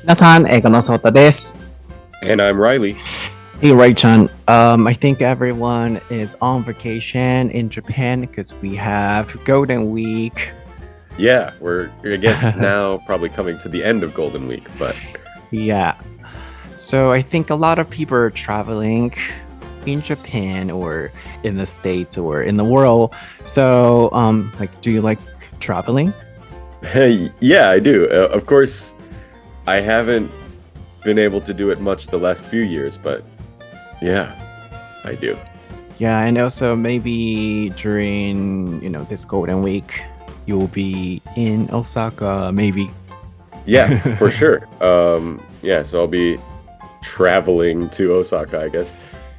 皆さん、英語のソータです。 And I'm Riley. Hey, Ray-chan. I think everyone is on vacation in Japan because we have Golden Week. Yeah, I guess now probably coming to the end of Golden Week, but Yeah. So I think a lot of people are traveling in Japan or in the States or in the world. So, do you like traveling? hey, yeah, I do. Of course, I haven't been able to do it much the last few years, but yeah, I do. Yeah, and also maybe during, this Golden Week, you'll be in Osaka, maybe. Yeah, for sure. Yeah, so I'll be traveling to Osaka, I guess.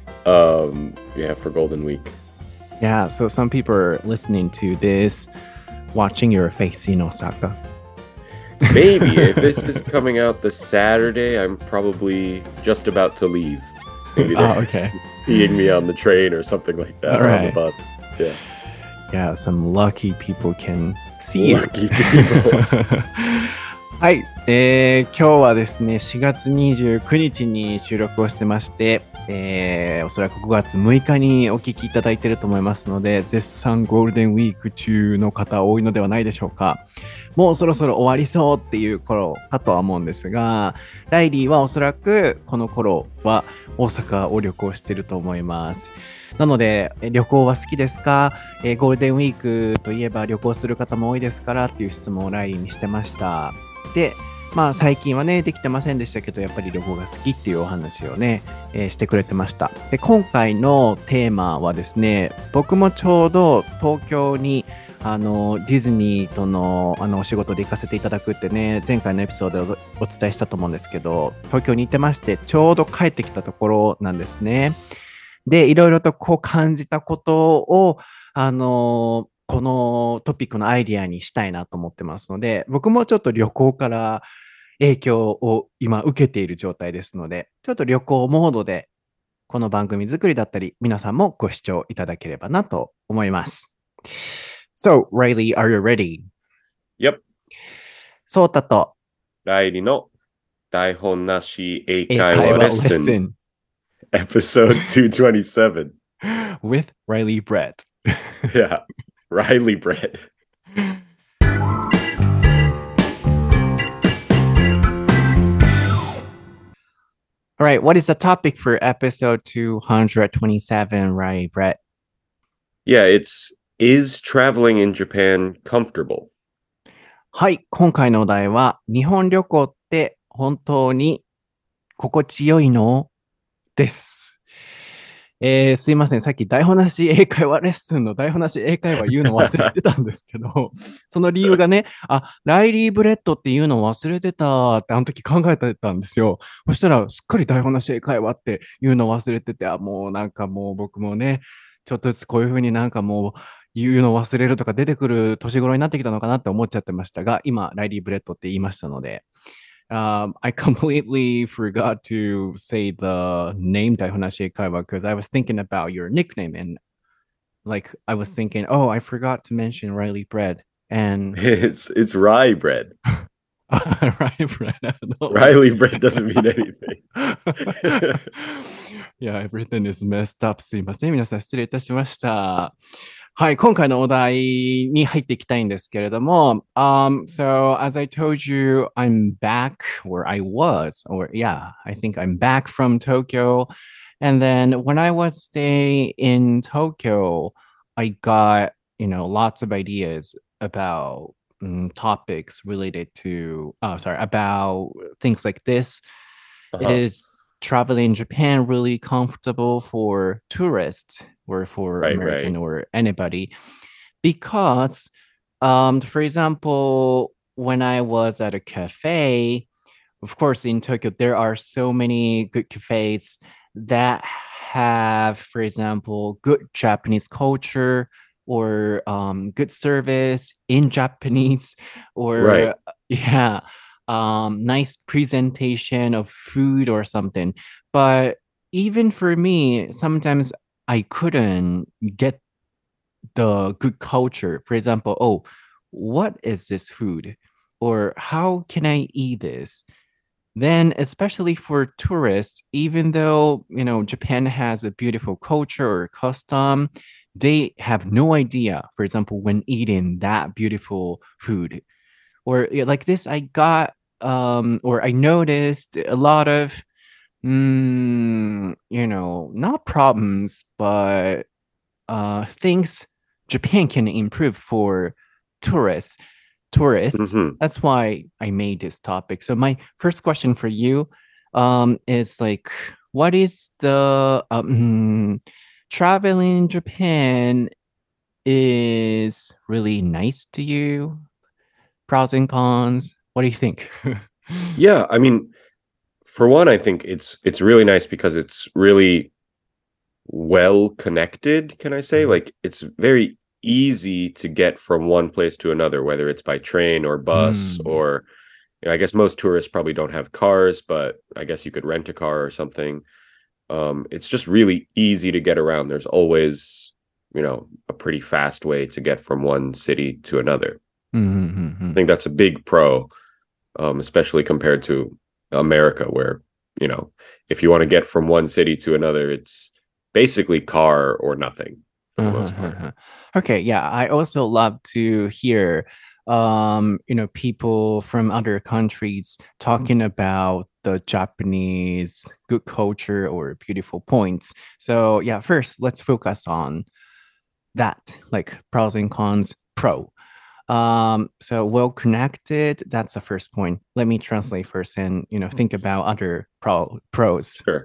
Yeah, for Golden Week. Yeah, so some people are listening to this, watching your face in Osaka. Maybe if this is coming out this Saturday, I'm probably just about to leave. Maybe they're okay. seeing me on the train or something like that, or on the bus. Yeah. Yeah, some lucky people can see you. Lucky people. はい、今日はですね、4月29日に収録をしてまして、おそらく5月6日にお聞きいただいていると思いますので、絶賛ゴールデンウィーク中の方多いのではないでしょうか。もうそろそろ終わりそうっていう頃かとは思うんですが、ライリーはおそらくこの頃は大阪を旅行していると思います。なので、旅行は好きですか？ゴールデンウィークといえば旅行する方も多いですからっていう質問をライリーにしてました。で、最近はね、できてませんでしたけど、やっぱり旅行が好きっていうお話をね、してくれてました。で、今回のテーマはですね、僕もちょうど東京にディズニーとのお仕事で行かせていただくってね、前回のエピソードでお伝えしたと思うんですけど、東京に行ってまして、ちょうど帰ってきたところなんですね。で、いろいろとこう感じたことを、このトピックのアイディアにしたいなと思ってますので、僕もちょっと旅行から影響を今受けている状態ですので、ちょっと旅行モードでこの番組作りだったり、皆さんもご視聴いただければなと思います。So, Riley, are you ready? Yep. ソータとライリの台本なし英会話レッスン Episode 227 with Riley Brett. Yeah, Riley Brett. All right, what is the topic for episode 227, Riley Brett? Yeah, is traveling in Japan comfortable? はい、今回のお題は、日本旅行って本当に心地よいのです。すいません、さっき台本なし英会話レッスンの台本なし英会話言うの忘れてたんですけど、その理由がね、ライリー・ブレッドっていうの忘れてたってあの時考えてたんですよ。そしたら、すっかり台本なし英会話っていうの忘れてて、もうなんかもう僕もね、ちょっとずつこういうふうになんかもう言うの忘れるとか出てくる年頃になってきたのかなって思っちゃってましたが、今、ライリー・ブレッドって言いましたので、I completely forgot to say the name Daihonashi Eikaiwa because I was thinking about your nickname and like I was thinking, oh, I forgot to mention Riley Bread and It's rye bread. Riley Bread. Riley bread doesn't mean anything. Yeah, everything is messed up. すいません。皆さん失礼いたしました。はい、今回のお題に入っていきたいんですけれども、so as I told you, I'm back where I was, or yeah, I think I'm back from Tokyo. And then when I was staying in Tokyo, I got, lots of ideas about topics related to, about things like this. Is traveling in Japan really comfortable for tourists or for American or anybody? Because, for example, when I was at a cafe, of course, in Tokyo, there are so many good cafes that have, for example, good Japanese culture or good service in Japanese or, yeah, nice presentation of food or something. But even for me, sometimes I couldn't get the good culture. For example, oh, what is this food? Or how can I eat this? then especially for tourists, even though, Japan has a beautiful culture or custom, they have no idea, for example, when eating that beautiful food. Or yeah, like this, or I noticed a lot of, not problems, but things Japan can improve for tourists. Tourists. Hmm. That's why I made this topic. So my first question for you is like, what is the traveling in Japan is really nice to you? Pros and cons. What do you think? Yeah, I mean, for one, I think it's really nice because it's really well connected, can I say? Mhm. Like it's very easy to get from one place to another, whether it's by train or bus Mm. or I guess most tourists probably don't have cars, but I guess you could rent a car or something. It's just really easy to get around. There's always, a pretty fast way to get from one city to another. I think that's a big pro, especially compared to America, where, you know, if you want to get from one city to another, it's basically car or nothing for the most part. Okay, yeah, I also love to hear people from other countries talking about the Japanese good culture or beautiful points. So, yeah, first let's focus on that, like pros and cons. Pro. So well connected, that's the first point. Let me translate first and think about other pros. Sure.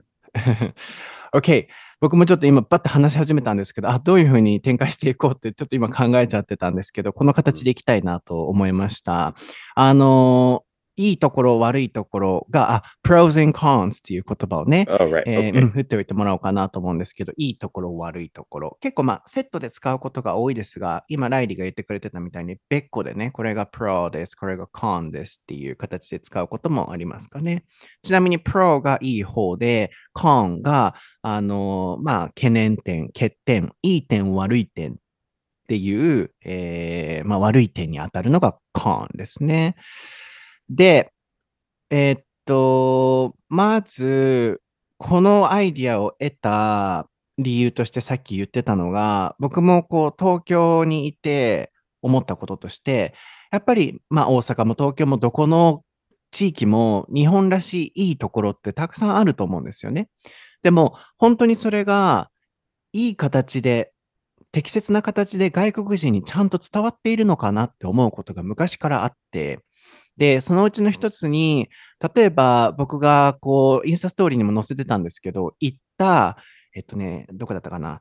OK。僕もちょっと今、バッと話し始めたんですけど、どういうふうに展開していこうって、ちょっと今考えちゃってたんですけど、この形でいきたいなと思いました。あのいいところ、悪いところが、pros and cons っていう言葉をね、 Oh, right. Okay. 振っておいてもらおうかなと思うんですけど、いいところ、悪いところ。結構セットで使うことが多いですが、今、ライリーが言ってくれてたみたいに、別個でね、これが pro です、これが con ですっていう形で使うこともありますかね。ちなみに pro がいい方で、con が、懸念点、欠点、いい点、悪い点っていう、悪い点に当たるのが con ですね。で、まず、このアイディアを得た理由としてさっき言ってたのが、僕もこう東京にいて思ったこととして、やっぱり大阪も東京もどこの地域も日本らしいいいところってたくさんあると思うんですよね。でも本当にそれがいい形で、適切な形で外国人にちゃんと伝わっているのかなって思うことが昔からあって、で、そのうちの一つに、例えば僕がこう、インスタストーリーにも載せてたんですけど、行った、どこだったかな。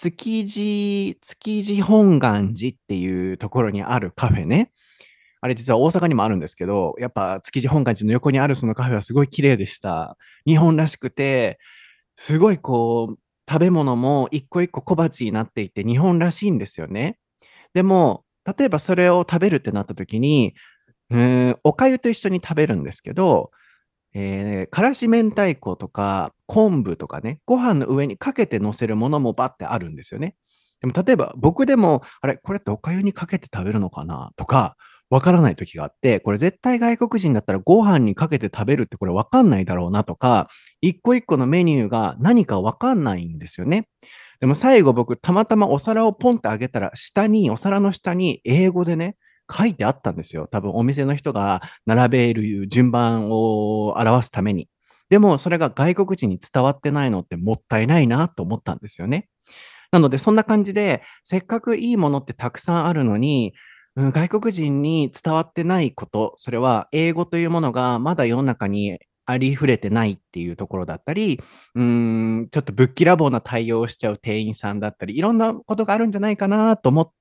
築地本願寺っていうところにあるカフェね。あれ実は大阪にもあるんですけど、やっぱ築地本願寺の横にあるそのカフェはすごい綺麗でした。日本らしくて、すごいこう、食べ物も一個一個小鉢になっていて日本らしいんですよね。でも、例えばそれを食べるってなった時に、お粥と一緒に食べるんですけど、からし明太子とか昆布とかね、ご飯の上にかけて乗せるものもバッてあるんですよね。でも例えば僕でも、あれ、これってお粥にかけて食べるのかなとか、わからない時があって、これ絶対外国人だったらご飯にかけて食べるってこれわかんないだろうなとか、一個一個のメニューが何かわかんないんですよね。でも最後僕たまたまお皿をポンってあげたらお皿の下に英語でね、書いてあったんですよ。多分お店の人が並べる順番を表すために。でもそれが外国人に伝わってないのってもったいないなと思ったんですよね。なのでそんな感じで、せっかくいいものってたくさんあるのに、外国人に伝わってないこと、それは英語というものがまだ世の中にありふれてないっていうところだったり、ちょっとぶっきらぼうな対応をしちゃう店員さんだったり、いろんなことがあるんじゃないかなと思って、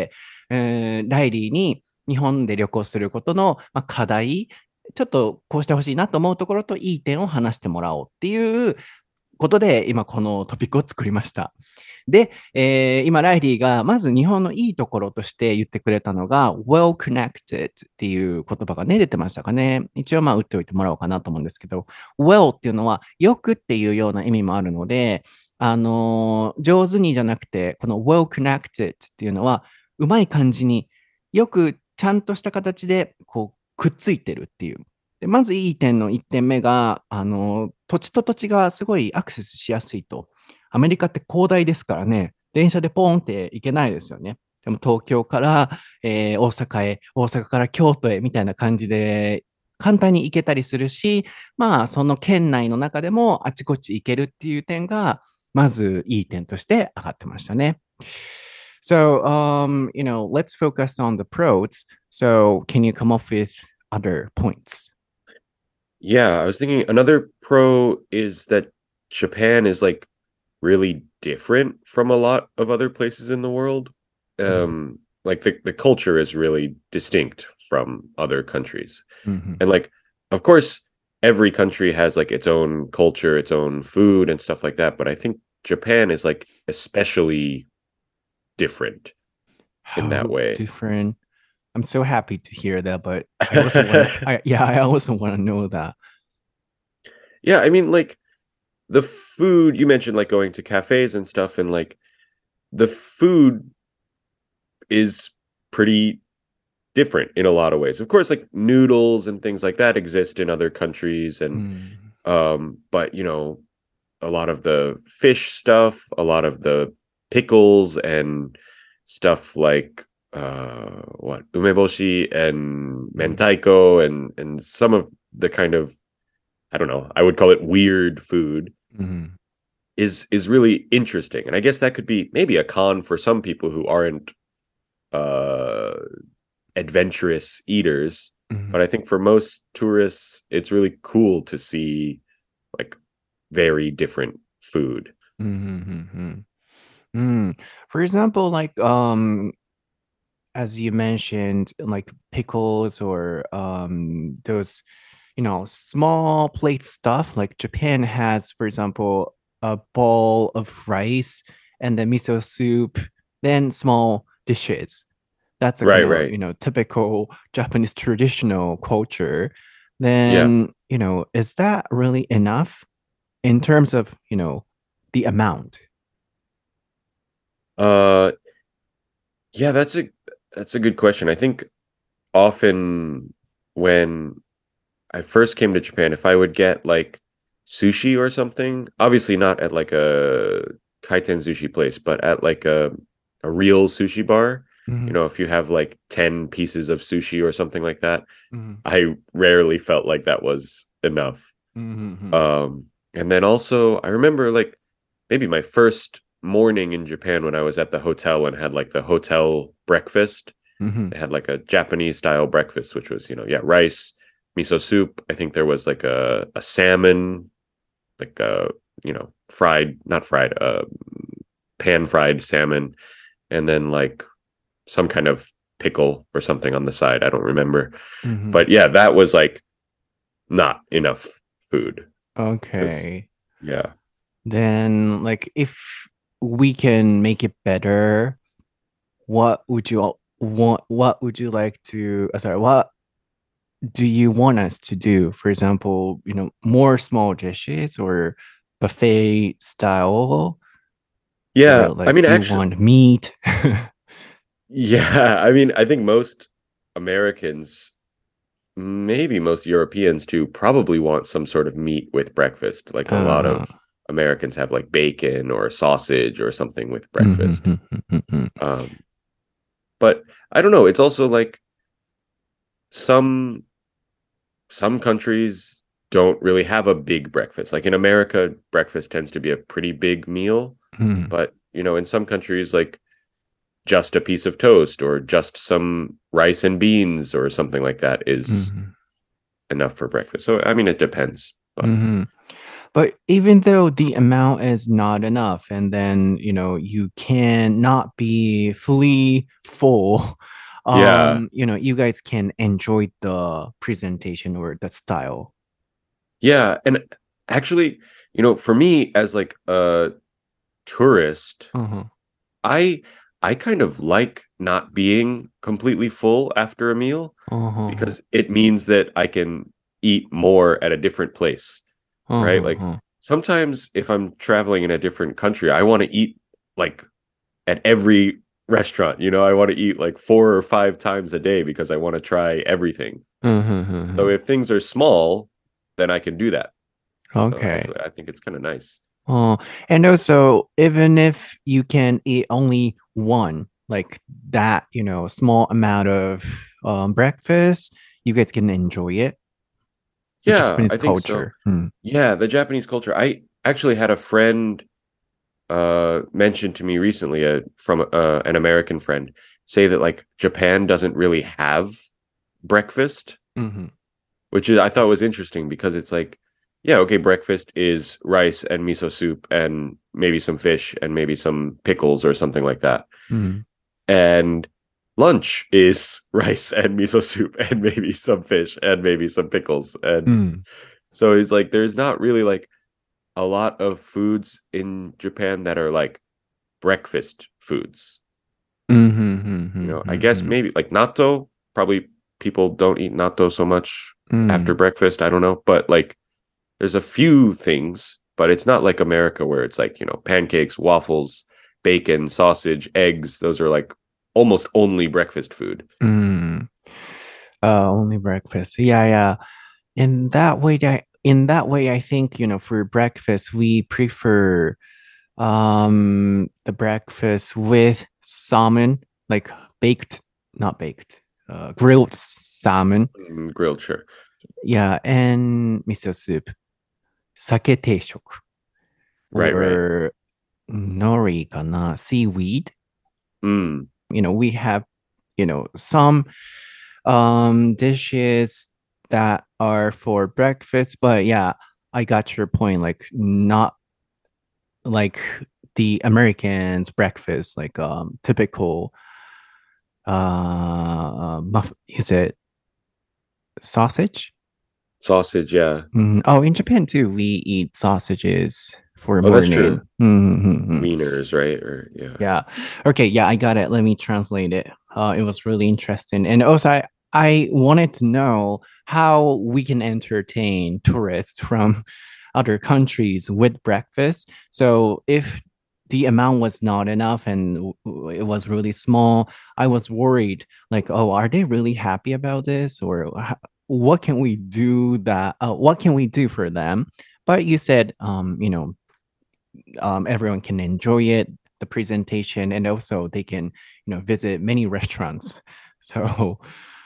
ライリーに日本で旅行することの課題、ちょっとこうしてほしいなと思うところといい点を話してもらおうっていうことで、今このトピックを作りました。で、今、ライリーがまず日本のいいところとして言ってくれたのが、well connected っていう言葉がね、出てましたかね。一応打っておいてもらおうかなと思うんですけど、well っていうのはよくっていうような意味もあるので、上手にじゃなくて、この well connected っていうのは、うまい感じによくちゃんとした形でこうくっついてるっていう。 で、まずいい点の1点目が、土地と土地がすごいアクセスしやすいと。アメリカって広大ですからね、電車でポーンって行けないですよね。でも東京から、大阪へ、大阪から京都へみたいな感じで簡単に行けたりするし、まあ、その県内の中でもあちこち行けるっていう点が、まずいい点として上がってましたね。So, let's focus on the pros. So, can you come up with other points? Yeah, I was thinking another pro is that Japan is like really different from a lot of other places in the world. Like the culture is really distinct from other countries. Mhm. And like of course every country has like its own culture, its own food and stuff like that, but I think Japan is like especially different in that How way. different. I'm so happy to hear that, but I also want to, I also want to know that. Yeah, I mean like the food you mentioned like going to cafes and stuff and like the food is pretty different in a lot of ways. Of course, like noodles and things like that exist in other countries, and Mm. but you know, a lot of the fish stuff, a lot of the pickles and stuff like what umeboshi and Mm. mentaiko and some of the kind of I don't know, I would call it weird food Mm. is really interesting. And I guess that could be maybe a con for some people who aren't uh adventurous eaters, Mm. but I think for most tourists it's really cool to see like very different food. Mm. Mm. For example, like as you mentioned, like pickles or those, small plate stuff. Like Japan has, for example, a bowl of rice and the miso soup, then small dishes. That's a kind Right, of, right. typical Japanese traditional culture. Yeah. Then, is that really enough in terms of, the amount? Uh yeah, that's a good question. I think often when I first came to Japan, if I would get like sushi or something, obviously not at like a kaiten sushi place, but at like a real sushi bar, you Mhm. know, if you have like 10 pieces of sushi or something like that, Mhm. I rarely felt like that was enough. Mhm. Um, and then also I remember like maybe my first morning in Japan when I was at the hotel and had like the hotel breakfast. Mhm. They had like a Japanese style breakfast, which was, you know, yeah, rice, miso soup. I think there was like a salmon, like you know, fried, not fried, pan fried salmon, and then like some kind of pickle or something on the side. I don't remember. Mhm. But yeah, that was like not enough food because Okay. yeah. Then, like, if we can make it better, what would you want? What would you like to? Sorry, what do you want us to do? For example, more small dishes or buffet style, or Yeah, I like mean you actually want meat? yeah, I mean I think most Americans, maybe most Europeans too, probably want some sort of meat with breakfast. Like a lot Uh, of Americans have like bacon or sausage or something with breakfast. mhm, mhm, mhm, Um, but I don't know. It's also like some some countries don't really have a big breakfast. Like in America, breakfast tends to be a pretty big meal. mhm, But you know, in some countries, like just a piece of toast or just some rice and beans or something like that is mhm, enough for breakfast. So I mean, it depends. But mhm. But even though the amount is not enough, and then, you cannot be fully full, yeah, you guys can enjoy the presentation or the style. yeah, and actually, you know, for me as like a tourist, Uh-huh. I I kind of like not being completely full after a meal Uh-huh. because it means that I can eat more at a different place, right? Like Uh-huh. sometimes if I'm traveling in a different country, I want to eat like at every restaurant, you know, I want to eat like 4 or 5 times a day because I want to try everything. So うん、うん、うん、うん。 if things are small, then I can do that. So Okay. actually, I think it's kind of nice. Oh, and also, even if you can eat only one, like that, small amount of breakfast, you guys can enjoy it. The Yeah, Japanese I think so. culture. Hmm. Yeah, the Japanese culture. I actually had a friend mentioned to me recently from an American friend say that like Japan doesn't really have breakfast, Hmm. which is I thought was interesting because it's like, yeah, okay, breakfast is rice and miso soup and maybe some fish and maybe some pickles or something like that. Hmm. And lunch is rice and miso soup and maybe some fish and maybe some pickles. And Hmm. so it's like there's not really like a lot of foods in Japan that are like breakfast foods. Hmm. Hmm. I Hmm. guess Hmm. maybe like natto, probably people don't eat natto so much after Hmm. breakfast. I don't know. But like there's a few things, but it's not like America where it's like, pancakes, waffles, bacon, sausage, eggs. Those are like almost only breakfast food. Hmm. Only breakfast. Yeah, yeah. In that way, I think, for breakfast, we prefer the breakfast with salmon, like baked, not baked, grilled salmon. Grilled, sure. Yeah, and miso soup, sake teishoku, Right, right. or nori kana, seaweed. Mm. We have, some dishes that are for breakfast, but yeah, I got your point. Like not like the Americans breakfast, like typical is it sausage? Sausage, yeah. Oh, in Japan too, we eat sausages for Oh, that's morning. true. Mhm. Wieners, right? Or yeah. Yeah. Okay, yeah, I got it. Let me translate it. It was really interesting. And also I wanted to know how we can entertain tourists from other countries with breakfast. So if the amount was not enough and it was really small, I was worried like, oh, are they really happy about this? Or what can we do for them? But you said, everyone can enjoy it, the presentation, and also they can, visit many restaurants. So,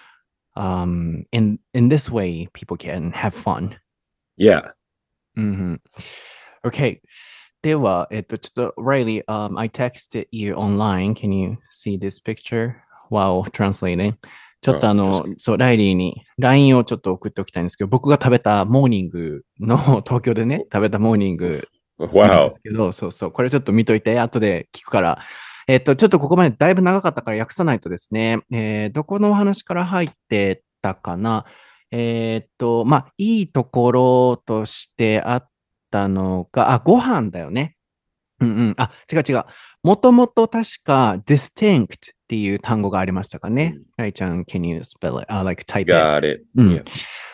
in this way, people can have fun. Yeah. Hmm. Okay. では、ちょっと、Riley, I texted you online. Can you see this picture while translating? ちょっと Just そう、ライリーに LINE をちょっと送っておきたいんですけど、僕が食べたモーニングの、東京でね、食べたモーニングなんです wow. けど、そうそう、これちょっと見といて、後で聞くから。ちょっとここまでだいぶ長かったから訳さないとですね、どこのお話から入ってたかな。まあ、いいところとしてあったのが、ご飯だよね。うんうん。違う違う。もともと確か distinct っていう単語がありましたかね。 Mm. ライちゃん、can you spell it? Like type it. Got it. うん。 Yeah.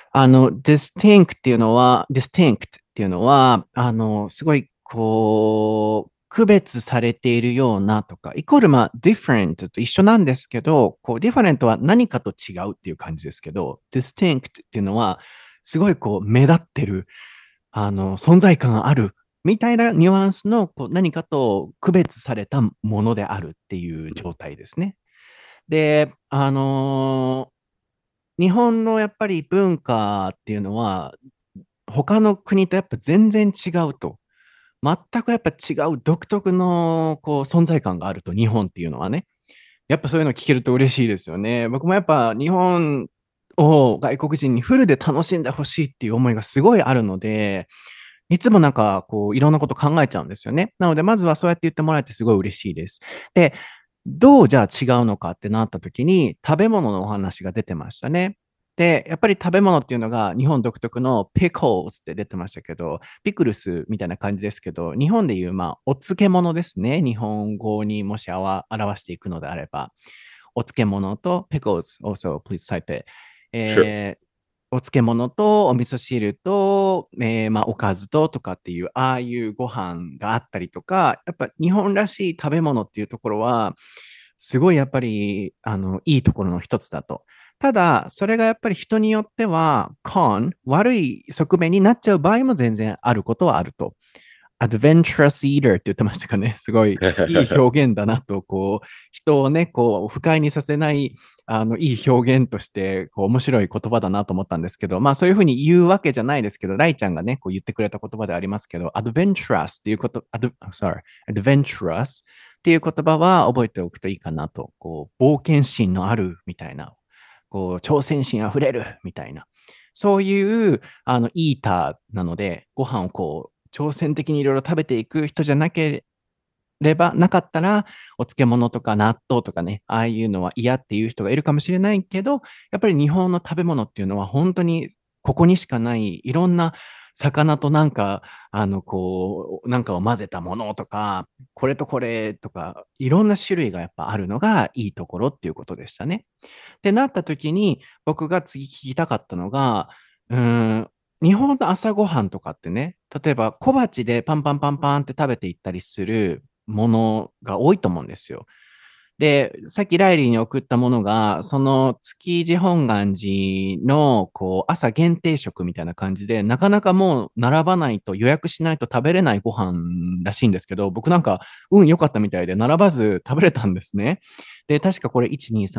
distinct っていうのは、すごい、区別されているようなとか、イコール、different と一緒なんですけど、different は何かと違うっていう感じですけど、distinct っていうのは、すごい、目立ってる、存在感があるみたいなニュアンスの何かと区別されたものであるっていう状態ですね。で、日本のやっぱり文化っていうのは、他の国とやっぱ全然違うと。全くやっぱ違う独特の存在感があると、日本っていうのはね。やっぱそういうの聞けると嬉しいですよね。僕もやっぱ日本を外国人にフルで楽しんでほしいっていう思いがすごいあるので、いつもなんかいろんなこと考えちゃうんですよね。なのでまずはそうやって言ってもらえてすごい嬉しいです。で、どうじゃあ違うのかってなった時に食べ物のお話が出てましたね。で、やっぱり食べ物っていうのが日本独特の pickles って出てましたけど、ピクルスみたいな感じですけど、日本でいうお漬物ですね。日本語にもし表していくのであれば。お漬物と pickles also please type it、 Sure. お漬物とお味噌汁と、おかずととかっていう、ああいうご飯があったりとか、やっぱ日本らしい食べ物っていうところは、 すごいやっぱり、いいところの一つだと。ただ、それがやっぱり人によっては、悪い側面になっちゃう場合も全然あることはあると。adventurous eater って言ってましたかね。すごいいい表現だなと、人をね、不快にさせない、いい表現として、面白い言葉だなと思ったんですけど、まあそういうふうに言うわけじゃないですけど、ライちゃんがね、言ってくれた言葉でありますけど、adventurous っていうadventurous っていう言葉は覚えておくといいかなと、冒険心のあるみたいな、挑戦心あふれるみたいな、そういう、イーターなので、ご飯を挑戦的にいろいろ食べていく人じゃなかったら、お漬物とか納豆とかね、ああいうのは嫌っていう人がいるかもしれないけど、やっぱり日本の食べ物っていうのは本当にここにしかないいろんな魚となんか、なんかを混ぜたものとか、これとこれとか、いろんな種類がやっぱあるのがいいところっていうことでしたね。ってなった時に、僕が次聞きたかったのが、うーん、日本の朝ごはんとかってね、例えば小鉢でパンパンパンパンって食べていったりするものが多いと思うんですよ。で、さっきライリーに送ったものが、その築地本願寺の朝限定食みたいな感じで、なかなかもう並ばないと予約しないと食べれないご飯らしいんですけど、僕なんか運良かったみたいで並ばず食べれたんですね。で、確かこれ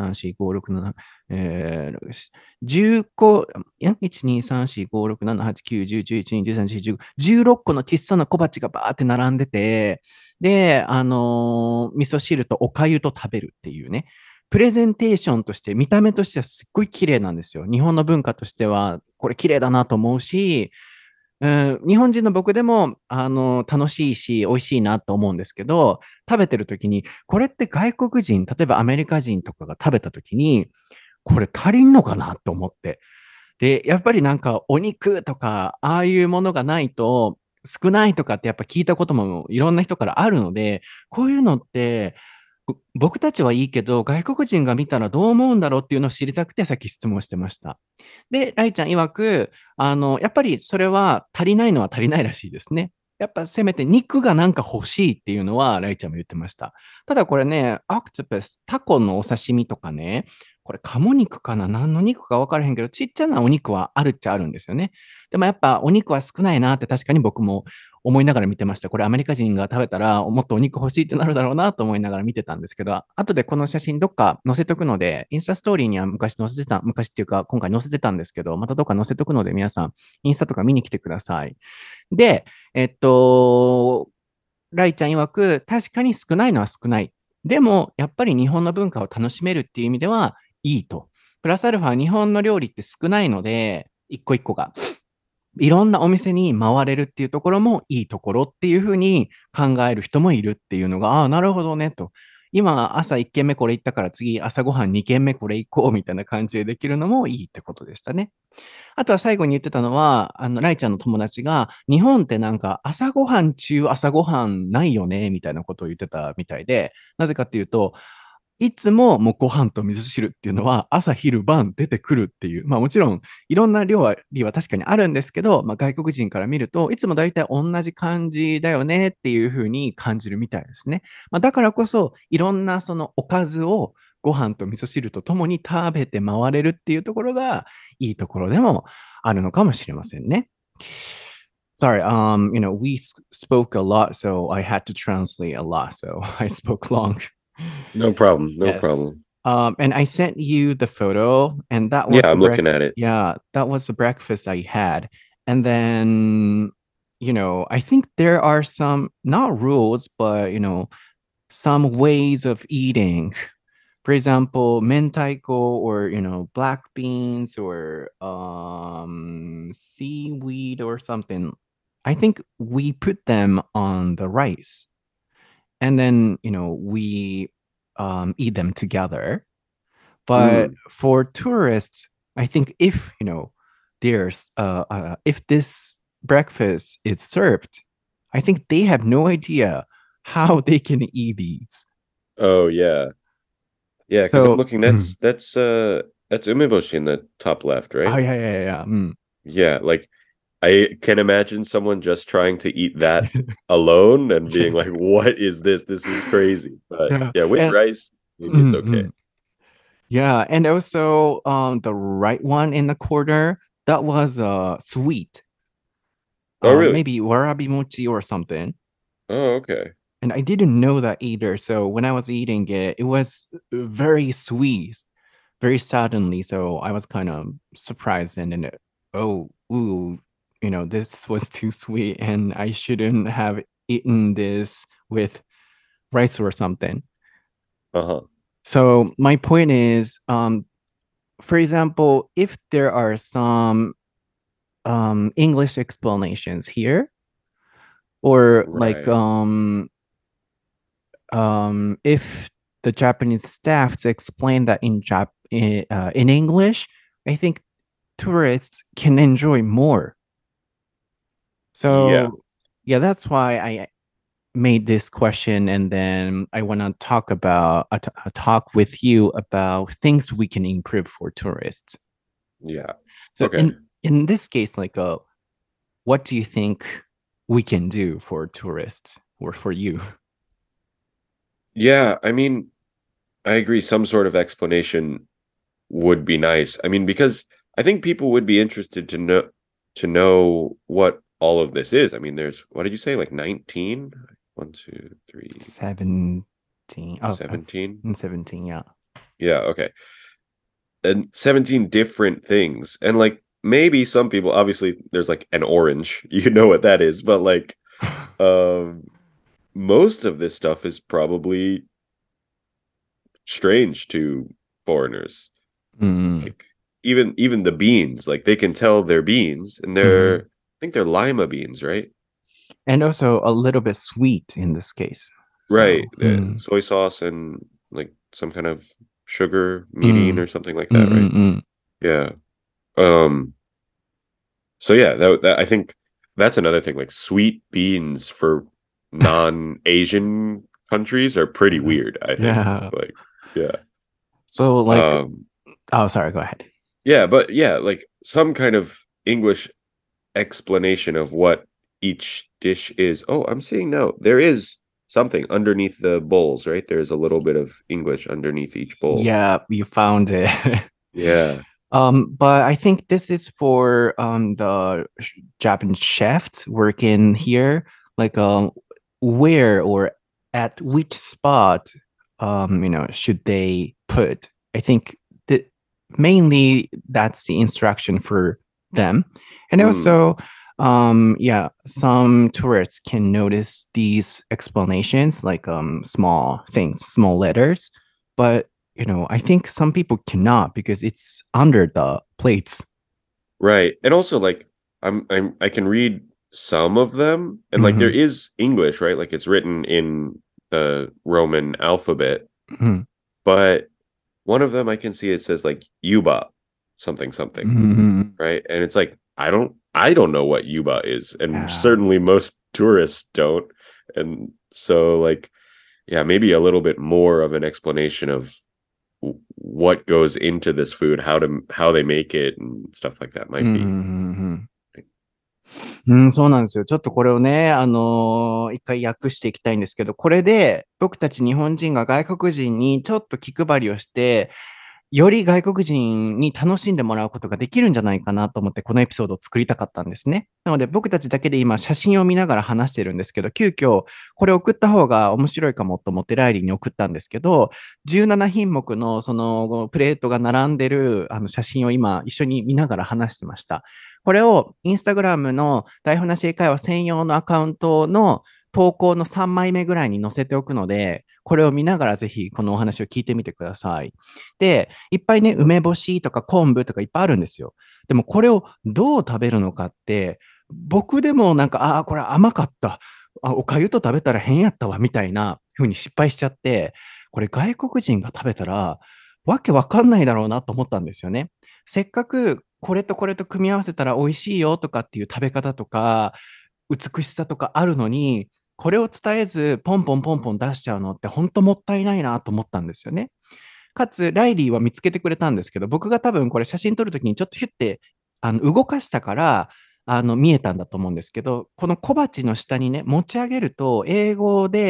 1、2、3、4、5、6、7、10個、1、2、3、4、5、6、7、8、9、10、11、12、13、14、15、16個の小さな小鉢がバーって並んでて、で、味噌汁とお粥と食べるっていうね、プレゼンテーションとして、見た目としてはすっごい綺麗なんですよ。日本の文化としては、これ綺麗だなと思うし、日本人の僕でも、楽しいし、美味しいなと思うんですけど、食べてる時に、これって外国人、例えばアメリカ人とかが食べた時に、これ足りんのかなと思って。で、やっぱりなんかお肉とか、ああいうものがないと少ないとかってやっぱ聞いたこともいろんな人からあるので、こういうのって僕たちはいいけど、外国人が見たらどう思うんだろうっていうのを知りたくてさっき質問してました。で、ライちゃん曰く、やっぱりそれは足りないのは足りないらしいですね。やっぱせめて肉がなんか欲しいっていうのはライちゃんも言ってました。ただこれね、アクトパス、タコのお刺身とかね、これ鴨肉かな何の肉か分からへんけど、ちっちゃなお肉はあるっちゃあるんですよね。でもやっぱお肉は少ないなって確かに僕も思いながら見てました。これアメリカ人が食べたらもっとお肉欲しいってなるだろうなと思いながら見てたんですけど、後でこの写真どっか載せとくので、インスタストーリーには昔っていうか今回載せてたんですけど、またどっか載せとくので皆さんインスタとか見に来てください。で、ライちゃん曰く確かに少ないのは少ない。でもやっぱり日本の文化を楽しめるっていう意味ではいいと。プラスアルファ日本の料理って少ないので、一個一個が。いろんなお店に回れるっていうところもいいところっていうふうに考える人もいるっていうのが、ああ、なるほどねと。今、朝1軒目これ行ったから次、朝ごはん2軒目これ行こうみたいな感じでできるのもいいってことでしたね。あとは最後に言ってたのは、ライちゃんの友達が、日本ってなんか朝ごはん中朝ごはんないよねみたいなことを言ってたみたいで、なぜかっていうと、いつももうご飯と味噌汁っていうのは朝昼晩出てくるっていう、まあもちろんいろんな料理は確かにあるんですけど、まあ外国人から見るといつも大体同じ感じだよねっていうふうに感じるみたいですね。まあだからこそいろんなそのおかずをご飯と味噌汁とともに食べて回れるっていうところがいいところでもあるのかもしれませんね。Sorry, we spoke a lot, so I had to translate a lot, so I spoke long. No problem. No Yes. problem. And I sent you the photo, and Yeah, I'm looking at it. that was the breakfast I had. And then, I think there are some not rules, but some ways of eating. For example, mentaiko or black beans or seaweed or something. I think we put them on the rice, and then we eat them together. But Mm. for tourists, I think if this breakfast is served, I think they have no idea how they can eat these. Oh yeah. Yeah, because I'm So, looking, that's umeboshi in the top left, oh right? yeah, yeah, yeah. Yeah, like I can imagine someone just trying to eat that alone and being like, "What is this? This is crazy." But Yeah, yeah, with and rice. maybe it's okay. Yeah, and also the right one in the corner, that was sweet. Oh, really? Maybe warabi mochi or something. Oh, okay. And I didn't know that either. So when I was eating it, it was very sweet, very suddenly. So I was kind of surprised and then, oh, ooh, this was too sweet and I shouldn't have eaten this with rice or something. Uh-huh. So my point is, for example, if there are some English explanations here, or like Right. if the Japanese staffs explain that in English, I think tourists can enjoy more. Yeah. So yeah, that's why I made this question, and then I want to talk with you about things we can improve for tourists. Yeah. So Okay. in this case, like what do you think we can do for tourists or for you? Yeah, I mean, I agree. Some sort of explanation would be nice. I mean, because I think people would be interested to know what all of this is. I mean, there's what did you say, like 19? 1, 2, 3, 17. Oh, 17? 17, yeah. Yeah, okay. And 17 different things. And like maybe some people, obviously there's like an orange. You know what that is, but like um most of this stuff is probably strange to foreigners. Mm, Like even the beans, like they can tell they're beans and they're mhm. I think they're lima beans, right? And also a little bit sweet in this case. Right. So, mm, Soy sauce and like some kind of sugar, mirin mm, or something like that, right? mm. Yeah. Um so yeah, that I think that's another thing. Like sweet beans for non-Asian countries are pretty weird, I think. Yeah. Like, yeah. So like, Um oh, sorry, go ahead. yeah, but yeah, like some kind of English explanation of what each dish is. Oh, I'm seeing now there is something underneath the bowls, right? There's a little bit of English underneath each bowl. Yeah, you found it. Yeah. But I think this is for the Japanese chefs working here, like where or at which spot should they put. I think that mainly that's the instruction for them. And Mm, also yeah, some tourists can notice these explanations like small things, small letters, but I think some people cannot because it's under the plates. right. And also like I can read some of them and like there Hmm. is English, right? Like it's written in the Roman alphabet, Hmm. but one of them I can see it says like Yuba something something. Hmm. Right? And it's like I don't know what Yuba is, and Yeah. certainly most tourists don't. And so like yeah, maybe a little bit more of an explanation of what goes into this food, how they make it and stuff like that うん、うん、 might be. うん。うん、そうなんですよ。ちょっとこれをね、一回訳していきたいんですけど、これで僕たち日本人が外国人にちょっと気配りをして、より外国人に楽しんでもらうことができるんじゃないかなと思って、このエピソードを作りたかったんですね。なので、僕たちだけで今、写真を見ながら話してるんですけど、急遽、これ送った方が面白いかもと思って、ライリーに送ったんですけど、17品目のそのプレートが並んでる写真を今、一緒に見ながら話してました。これをインスタグラムの台本なし英会話専用のアカウントの投稿の3枚目ぐらいに載せておくので、これを見ながらぜひこのお話を聞いてみてください。で、いっぱいね、梅干しとか昆布とかいっぱいあるんですよ。でもこれをどう食べるのかって、僕でもなんか、ああ、これ甘かった。おかゆと食べたら変やったわ、みたいな風に失敗しちゃって、これ外国人が食べたら、わけわかんないだろうなと思ったんですよね。せっかくこれとこれと組み合わせたら美味しいよとかっていう食べ方とか、美しさとかあるのに、これを伝えず、ポンポンポンポン出しちゃうのって本当もったいないなと思ったんですよね。かつ、ライリーは見つけてくれたんですけど、僕が多分これ写真撮るときにちょっとヒュッて動かしたから、見えたんだと思うんですけど、この小鉢の下にね、持ち上げると、英語で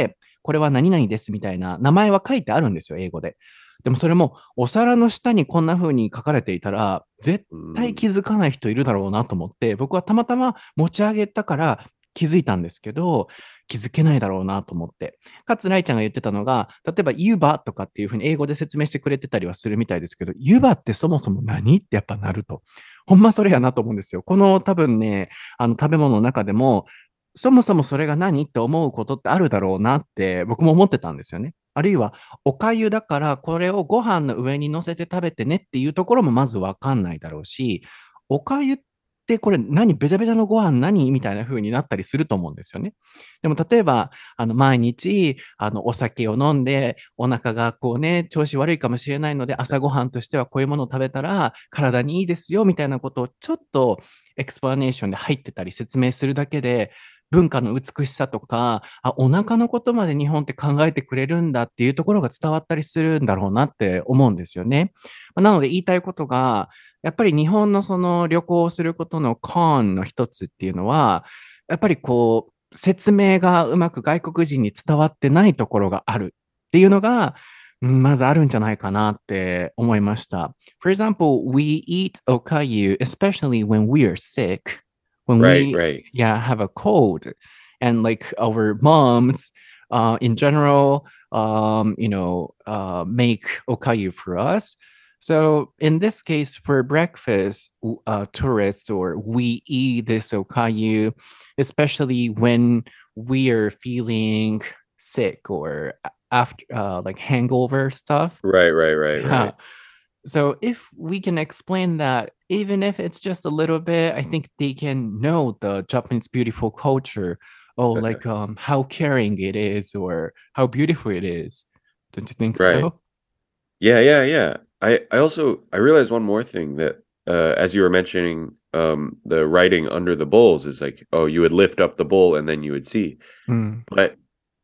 これは何々ですみたいな名前は書いてあるんですよ、英語で。でもそれもお皿の下にこんな風に書かれていたら、絶対気づかない人いるだろうなと思って、僕はたまたま持ち上げたから気づいたんですけど、気づけないだろうなと思って。かつ、ライちゃんが言ってたのが、例えば、湯葉とかっていうふうに英語で説明してくれてたりはするみたいですけど、湯葉ってそもそも何ってやっぱなると。ほんまそれやなと思うんですよ。この多分ね、食べ物の中でも、そもそもそれが何って思うことってあるだろうなって僕も思ってたんですよね。あるいは、お粥だからこれをご飯の上に乗せて食べてねっていうところもまずわかんないだろうし、お粥ってこれ何べちゃべちゃのご飯何みたいな風になったりすると思うんですよね。でも例えば、毎日、お酒を飲んで、お腹がこうね、調子悪いかもしれないので、朝ごはんとしてはこういうものを食べたら体にいいですよみたいなことをちょっとエクスプラネーションで入ってたり説明するだけで、文化の美しさとか、お腹のことまで日本って考えてくれるんだっていうところが伝わったりするんだろうなって思うんですよね。なので言いたいことが、やっぱり日本のその旅行をすることのコンの一つっていうのは、やっぱりこう、説明がうまく外国人に伝わってないところがあるっていうのが、まずあるんじゃないかなって思いました。For example, we eat okayu, especially when we are sick, when Right, we, right. yeah, have a cold. And like our moms, in general, make okayu for us. So in this case, for breakfast, tourists or we eat this okayu, especially when we are feeling sick or after like hangover stuff. Right, right, right, Yeah. right. So if we can explain that, even if it's just a little bit, I think they can know the Japanese beautiful culture. Oh, like how caring it is or how beautiful it is. Don't you think Right. so? Yeah, yeah, yeah. I realized one more thing that as you were mentioning the writing under the bowls is like, oh, you would lift up the bowl and then you would see. Mm. But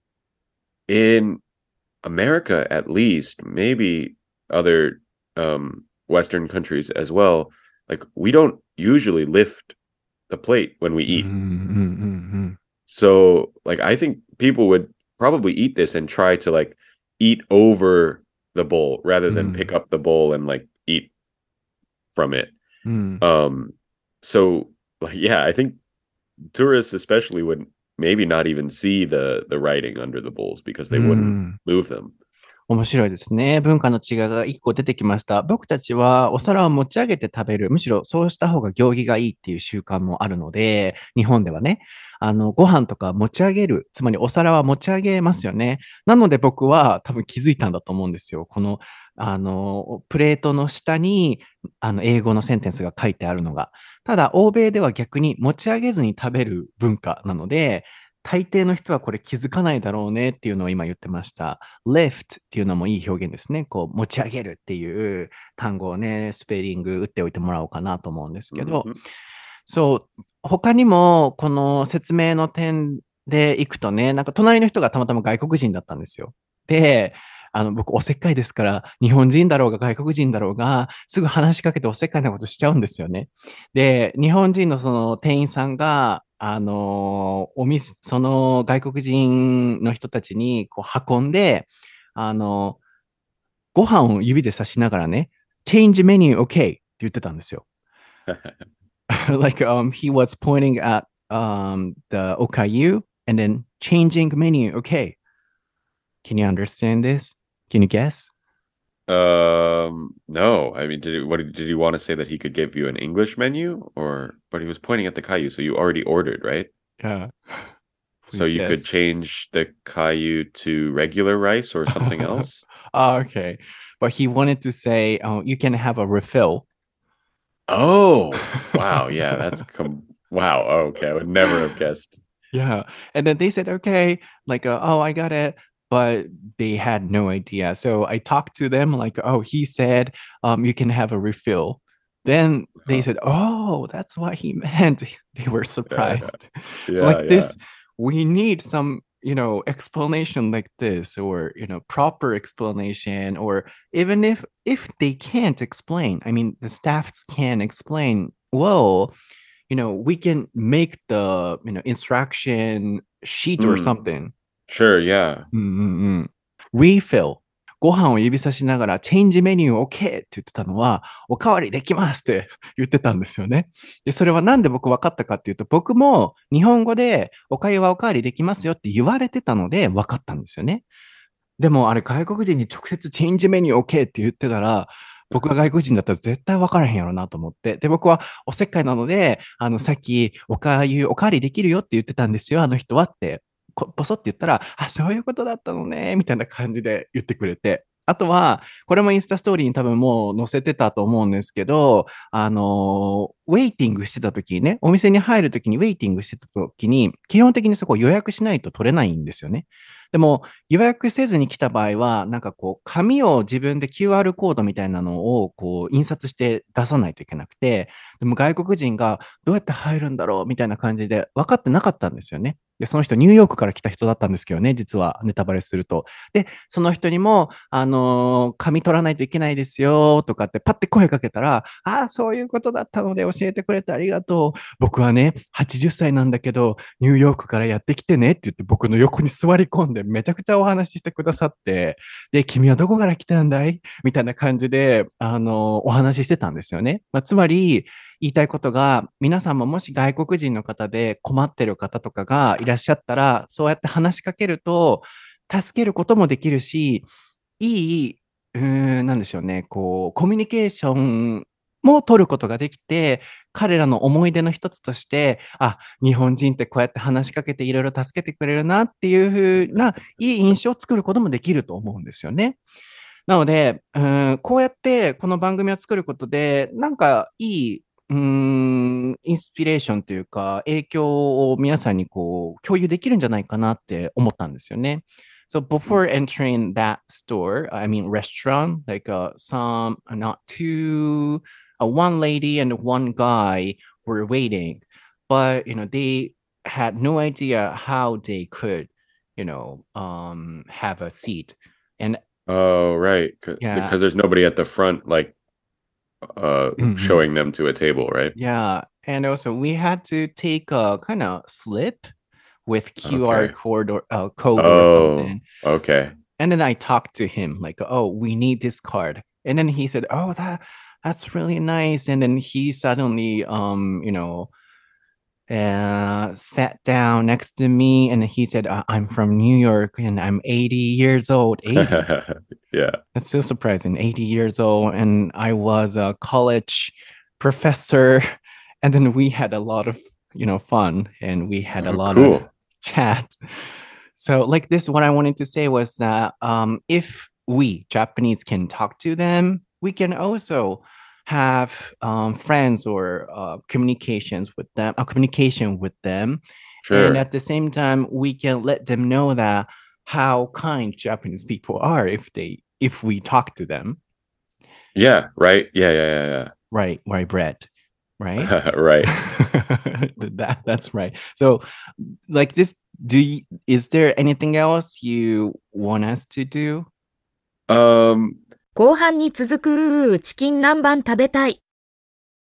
in America at least, maybe other Western countries as well, like we don't usually lift the plate when we eat. Mm. So like I think people would probably eat this and try to like eat over the bowl rather than pick up the bowl and like eat from it. Mm. Um so like yeah, I think tourists especially would maybe not even see the writing under the bowls because they wouldn't Mm. move them. 面白いですね。文化の違いが一個出てきました。僕たちはお皿を持ち上げて食べる。むしろそうした方が行儀がいいっていう習慣もあるので、日本ではね、ご飯とか持ち上げる。つまりお皿は持ち上げますよね。なので僕は多分気づいたんだと思うんですよ。この、プレートの下に、英語のセンテンスが書いてあるのが。ただ、欧米では逆に持ち上げずに食べる文化なので、大抵の人はこれ気づかないだろうねっていうのを今言ってました。lift っていうのもいい表現ですね。こう持ち上げるっていう単語をね、スペリング打っておいてもらおうかなと思うんですけど、 Mhm. そう、他にもこの説明の点でいくとね、なんか隣の人がたまたま外国人だったんですよ。で、僕おせっかいですから、日本人だろうが外国人だろうが、すぐ話しかけておせっかいなことしちゃうんですよね。で、日本人のその店員さんが、その外国人の人たちにこう運んで、あの、ご飯を指で指しながらね、change menu okay って言ってたんですよ。like he was pointing at the okayu and then changing menu okay. Can you understand this? Can you guess? No. I mean, did he want to say that he could give you an English menu or but he was pointing at the Caillou, so you already ordered, right? Yeah. So Please you could guess. change the Caillou to regular rice or something else? Oh, okay. But he wanted to say, you can have a refill. Oh, wow. Yeah, wow. Okay, I would never have guessed. Yeah. And then they said, okay, like, oh, I got it. But they had no idea. So I talked to them, like, oh, he said, you can have a refill. Then they Huh. said, oh, that's what he meant. They were Yeah, surprised. So, yeah, like yeah. this, we need some, explanation like this, or, proper explanation, or even if they can't explain, I mean, the staffs can explain, well, we can make the instruction sheet or Mm, something. Sure, yeah. うんうんうん。refill。ご飯を指さしながら、チェンジメニュー OK って言ってたのは、おかわりできますって言ってたんですよね。で、それはなんで僕分かったかっていうと、僕も日本語でおかゆはおかわりできますよって言われてたので分かったんですよね。でもあれ外国人に直接チェンジメニュー OK って言ってたら、僕が外国人だったら絶対分からへんやろなと思って。で、僕はおせっかいなので、さっきおかゆ、おかわりできるよって言ってたんですよ、あの人はって、ポソって言ったら、あ、そういうことだったのね、みたいな感じで言ってくれて。あとは、これもインスタストーリーに多分もう載せてたと思うんですけど、ウェイティングしてた時にね、お店に入る時にウェイティングしてた時に、基本的にそこ予約しないと取れないんですよね。でも、予約せずに来た場合は、なんかこう、紙を自分で QR コードみたいなのをこう印刷して出さないといけなくて、でも外国人がどうやって入るんだろうみたいな感じで分かってなかったんですよね。で、その人ニューヨークから来た人だったんですけどね、実はネタバレすると。で、その人にも、紙取らないといけないですよとかってパッて声かけたら、ああ、そういうことだったので教えてくれてありがとう。僕はね、80歳なんだけど、ニューヨークからやってきてねって言って僕の横に座り込んでめちゃくちゃお話ししてくださって、で、君はどこから来たんだいみたいな感じで、お話ししてたんですよね。まあ、つまり、言いたいことが、皆さんももし外国人の方で困ってる方とかがいらっしゃったら、そうやって話しかけると、助けることもできるし、いい、なんでしょうね、こう、コミュニケーションも取ることができて、彼らの思い出の一つとして、あ、日本人ってこうやって話しかけていろいろ助けてくれるなっていう風ないい印象を作ることもできると思うんですよね。なので、こうやってこの番組を作ることで、なんかいい、インスピレーションというか、影響を皆さんにこう共有できるんじゃないかなって思ったんですよね。So before entering that store, I mean restaurant, like some, not two, one lady and one guy were waiting, but they had no idea how they could, have a seat. And Oh, right. yeah, Because there's nobody at the front, like, mhm. showing them to a table, right? Yeah. And also we had to take a kind of slip with QR Okay. code or Oh, something. okay. And then I talked to him like, oh, we need this card. And then he said, oh, that's really nice. And then he suddenly, sat down next to me and he said, I'm from New York and I'm 80 years old. 80. Yeah. That's so surprising. 80 years old. And I was a college professor. And then we had a lot of, fun and we had a Oh, lot of cool. chat. So, like this, what I wanted to say was that if we Japanese can talk to them, we can also have friends or communication with them, and Sure. at the same time, we can let them know that how kind Japanese people are if we talk to them. Yeah, right. Yeah. Right, Brett. Right? Right. That's right. So, like this, is there anything else you want us to do? Um, 後半に続くチキン南蛮食べたい。